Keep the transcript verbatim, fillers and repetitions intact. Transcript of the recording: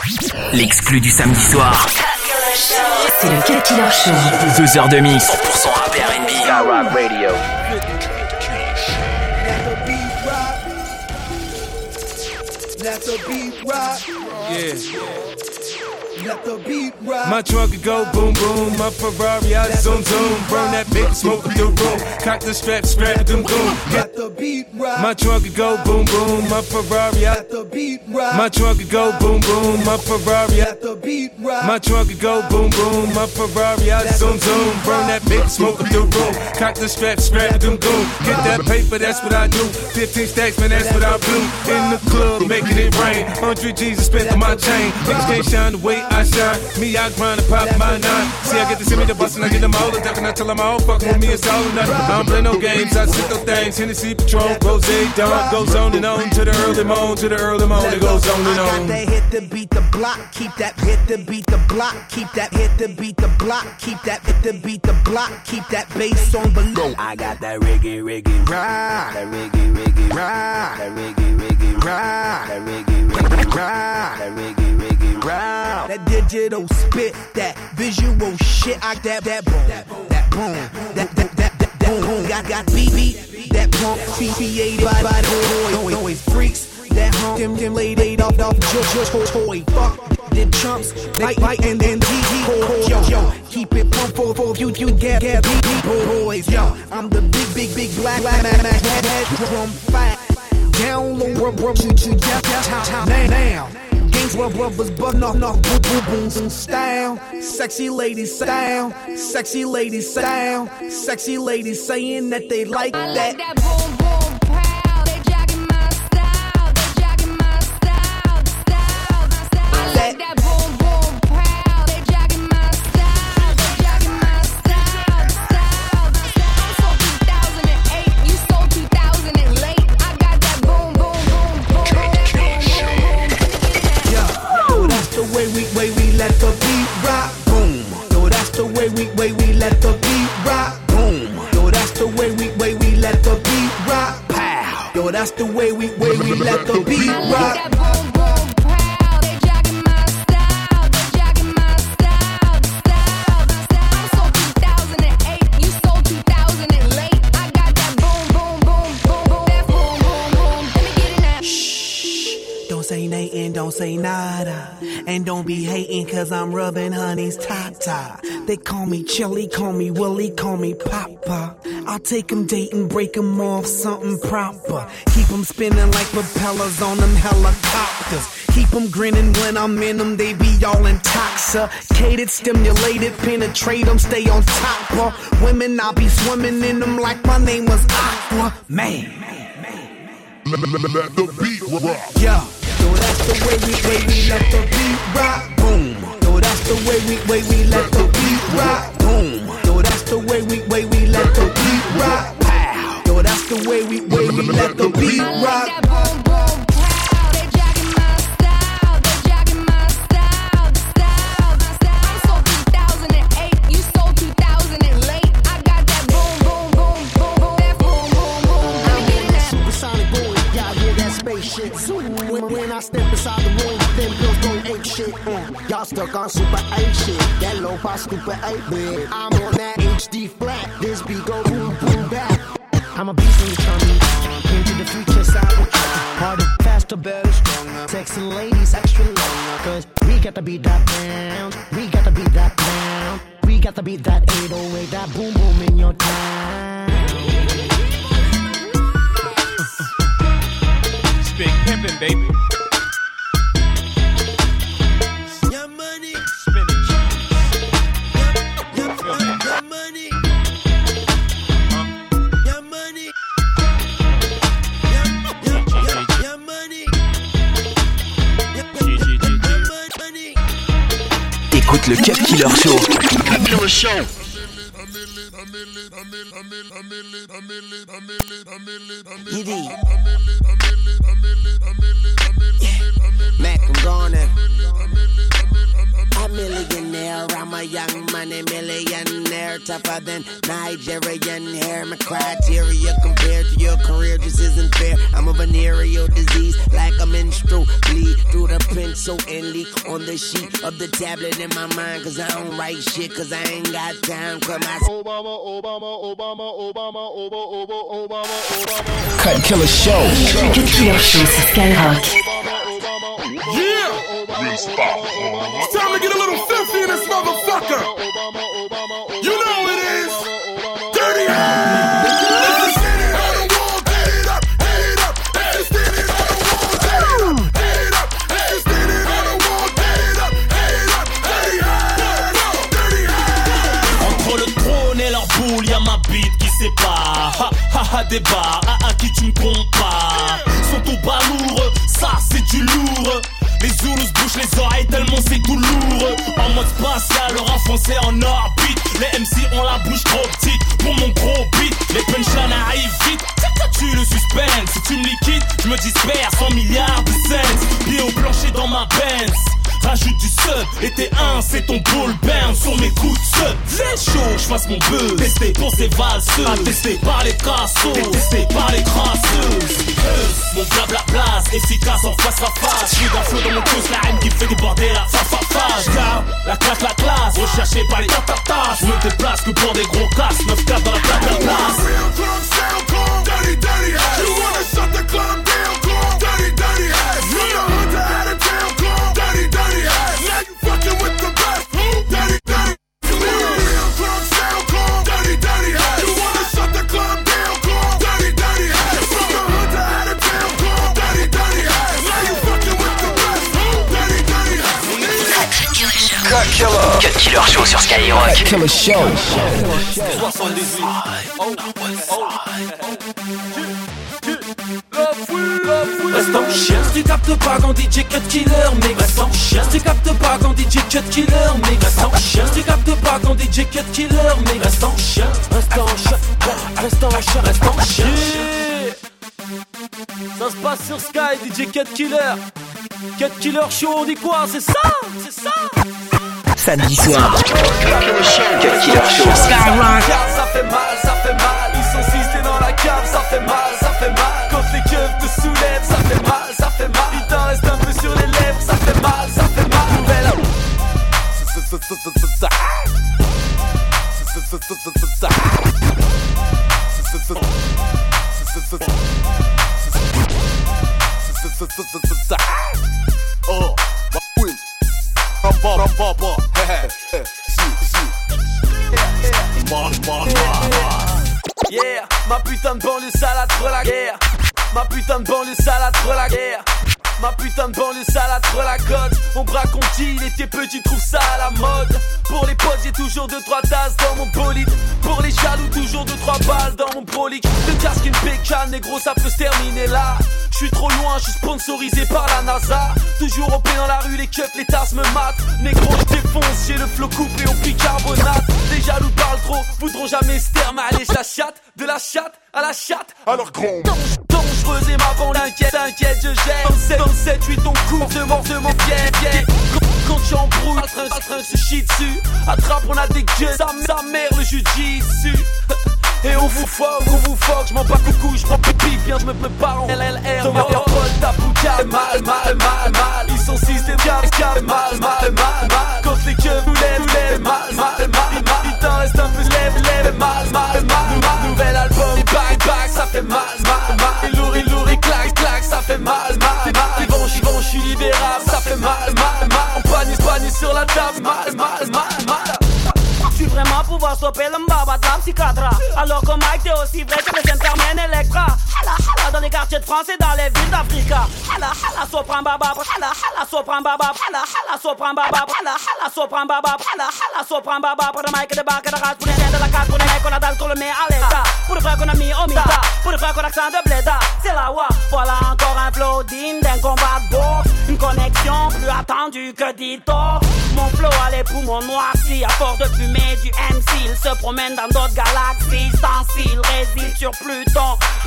L'exclu du samedi soir. C'est le Cut Killer Show. Deux heures de mix. cent pour cent rap et R and B. Skyrock Radio. Let the beat rock. Yeah. Let the beat rock. My trunk could go boom boom, my Ferrari I zoom zoom. Burn that big smoke with the room. Cock the strap, strap it, doom doom. Let the beat rock. My trunk could go boom boom, my Ferrari I. Let the beat rock. My trunk could go boom boom, my Ferrari I. Let the beat rock. My trunk could go boom boom, my Ferrari I zoom zoom. Burn that big smoke with the room. Cock the strap, strap it, doom doom. Get that paper, that's what I do. Fifteen stacks, man, that's what I do. In the club, making it rain. Hundred G's I spent on my chain. Niggas can't shine the way I shine. Me, I grind and pop my nine. See, I get to see me the bus and I get them all the duck and I tell them I don't fucking with me, it's all or nothing. I don't play no games, I sit those things. Hennessy, Patron, Rose, Dawn. Goes on and on to the early morn, to the early morn. It goes on and I got on. that hit to beat the block, keep that hit to beat the block, keep that hit to beat the block, keep that hit to beat the block, keep that bass on below. I got that reggae, reggae, rah, that reggae, reggae, rah, that reggae, reggae, rah, that reggae, reggae, rah, that reggae, reggae, rah. That digital spit, that visual shit, I that that boom, that boom, that that that that, that boom. Got got beat beat, that pump created by by the noise freaks. That hump, them, them laid eight off, off, just, just, toy, fuck, them chumps, bite, bite, and then T T, yo, yo, keep it pump for, for you, you get, get, beat, boys, yo, I'm the big, big, big black, black, man, man, head, drum, fat, down low, rub, rub, shoot, shoot, yeah, yeah, now, now, gangs, rub, rubbers, button off, off, boom, boom, boom, boom, style, sexy ladies, style, sexy ladies, style, sexy ladies saying that they like that. I like that boom, boom. That's the way we, way we let the beat rock. That boom, boom, proud. They jacking my style. They jacking my style. Style, style. I'm so two thousand eight. You so two thousand late. I got that boom, boom, boom, boom, boom. That boom, boom, boom. Let me get it now. Shh. Don't say nothing, don't say nada. And don't be hating cause I'm rubbing honey's top-top. They call me Chili, call me Willie, call me Papa. I'll take them dating, break them off something proper. Keep them spinning like propellers on them helicopters. Keep them grinning when I'm in them, they be all intoxicated, stimulated, penetrate them, stay on top of women. I'll be swimming in them like my name was Aqua Man. Let the beat rock. Yeah, so that's the way we, way we let the beat rock. Boom. So that's the way we, way we let the beat rock. Boom. So that's the way we, way we let the beat rock. Pow. Yo, that's the way we, way we let the beat rock. That boom, boom, proud. They jacking my style. They jacking my style. Style, style. I'm so two thousand eight. You so two thousand late. I got that boom, boom, boom, boom, boom. That boom, boom, boom. Let me get it now. Supersonic boy, y'all hear that spaceship? When, when I step inside the room, them girls go ape shit. Mm. Y'all stuck on super eight shit. That low pass stupid eight bit. I'm on that H D flat. This beat go boom, boom, back. I'm a beast in the tummy. Into the future side of the harder, faster, better, stronger. Sexy ladies, extra longer. Cause we got to beat that down. We got to beat that down. We got to beat that eight oh eight. That boom, boom in your time. It's big pimpin', baby. Your money. Spinning cheese. Your, your, your money. Your money. Your, your, your, your money. Your, your money. Écoute le Cut Killer Show. Cut Killer Show. Mac, I'm gone. A millionaire, I'm a young money millionaire, tougher than Nigerian hair. My criteria compared to your career just isn't fair. I'm a venereal disease, like a menstrual bleed through the print so endly on the sheet of the tablet in my mind. Cause I don't write shit, cause I ain't got time. Come on. Obama, Obama, Obama, Obama, Obama, Obama, Obama. Cut Killer Show. Cut Killer Show sur Skyrock. Yeah! It's time to get a little filthy in this motherfucker. You know it is. Dirty Hands. If you're standing on the wall, get it up, get it up. If you're standing on the wall, get it up, get it up. If you're standing on the wall, get it up, get it up. Dirty Hands, Dirty Hands. Entre le trône et leur boule, y'a ma bite qui sépare. Ha ha ha débat, à, à qui tu me compares. Sont au bas lourd, ça c'est du lourd. Les Zoulous bouchent les oreilles tellement c'est tout lourd. En mode spatial, le rap français en orbite. Les M C ont la bouche trop petite pour mon gros beat. Les punchlines arrivent vite, tu le suspense. Si tu me liquides, je me disperse en milliards de cents. Pieds au plancher dans ma Benz. Rajoute du sub, et t'es un, c'est ton ball burn sur mes coups de sub. C'est chaud, j'fasse mon buzz. Testé pour ces valseuses, attesté par les cassos, testé par les crasseuses. Mon blabla place, efficace en face à face. J'suis d'un flow dans mon pouce, la haine qui fait déborder la fa fa fa. J'garde la claque, la classe, recherché par les tatatas. J'me déplace que pour des gros casses, neuf quatre dans la plaque, la place. Dirty, dirty Hands. You wanna shut the club down, call Dirty, dirty Hands. From the hood to out of town, call Dirty, dirty Hands. Now you fucking with the best, Dirty, dirty. You want a real club sound, call Dirty, dirty Hands. You wanna shut the club down, call Dirty, dirty Hands. From the hood to out of town, call Dirty, dirty Hands. Now you fucking with the best, Dirty, dirty Hands. Cut Killer. Cut Killer Show sur Skyrock. Cut Killer Show. soixante-dix-huit. Oh, oh, oh. Reste en chien, si tu captes pas quand D J Cut Killer mix. Reste en chien, si tu captes pas quand D J Cut Killer mix. Reste en chien, si tu captes pas quand D J Cut Killer mix. Reste en chien, reste en chien, reste en chien, reste en chien. Ça se passe sur Sky, D J Cut Killer. Cut Killer Show, on dit quoi? C'est ça, c'est ça. Samedi soir. Cut Killer Show. Skyrock. Ça fait mal, ça fait mal. Ils sont six, t'es dans la cave, ça fait mal, ça fait mal. Quand les keufs te soulèvent, ça fait mal, ça fait mal. Il t'en reste un peu sur les lèvres, ça fait mal, ça fait mal. Nouvelle. Oh, oui. Rampa, rampa, rampa. Yeah, ma putain de banlieue salade pour la guerre. Ma putain de banlieue salade pour la guerre. Ma putain de banlieue salade pour la côte. On braque, on dit, il était petit, trouve ça à la mode. Pour les potes, j'ai toujours deux trois tasses dans mon bolide. Pour les jaloux, toujours deux trois balles dans mon brolic. Le casque, une bécane, négro, ça peut se terminer là. J'suis trop loin, j'suis sponsorisé par la NASA. Toujours au pied dans la rue, les cups, les tasses me matent. Négro, j'défonce, j'ai le flot coupé au bicarbonate. Les jaloux parlent trop, voudront jamais se terme. Allez, j'la chatte, de la chatte à la chatte. Alors gros. Dangereuse et ma bande, t'inquiète, t'inquiète, je gère. vingt-sept, huit, ton coup, de mort, de mon fier, fier. Quand tu embrouilles, le train, le train se chie dessus. Attrape, on a des gueules, sa, sa mère, le jujitsu. Et on vous fuck, on vous fuck, j'm'en bats coucou, j'prends pipi, viens, j'me prépare en L L R. Dans ma paul, ta boucade, mal, mal, mal, mal. Ils sont six, des gars, mal, mal, mal, mal. Quand les queues vous lèvent, vous lèvent, mal, mal, mal, mal. Il t'en reste un peu, lève, lève, mal, mal, mal, mal. Nouvel album, back, back, ça fait mal, mal, mal. Il lourd, il lourd, il claque, claque, ça fait mal, mal, mal. Ils vont, ils vont, j'suis libérable, ça fait mal, mal, mal. On panique, panique sur la table, mal, mal, mal, mal. Tu vraiment pouvoir stopper le mbaba de la psychiatra. Alors que Mike t'es aussi vrai que les Intermen Electra. Hala hala dans les quartiers de France et dans les villes d'Africa. Hala hala sopran baba. Hala hala sopran baba. Hala hala sopran baba. Hala hala sopran baba. Hala hala sopran baba. Pour le Mike de bac et de race. Pour les de la carte. Pour les mecs qu'on a dalle qu'on le met à l'état. Pour les frères qu'on a mis au mita. Pour les frères qu'on a accent de bléda. C'est la wa. Voilà encore un flow digne d'un combat de boxe. Une connexion plus attendue que Dito. Mon flow a les poumons noircis à force de fumée du M C, il se promène dans d'autres galaxies. Sans s'il réside sur Pluton.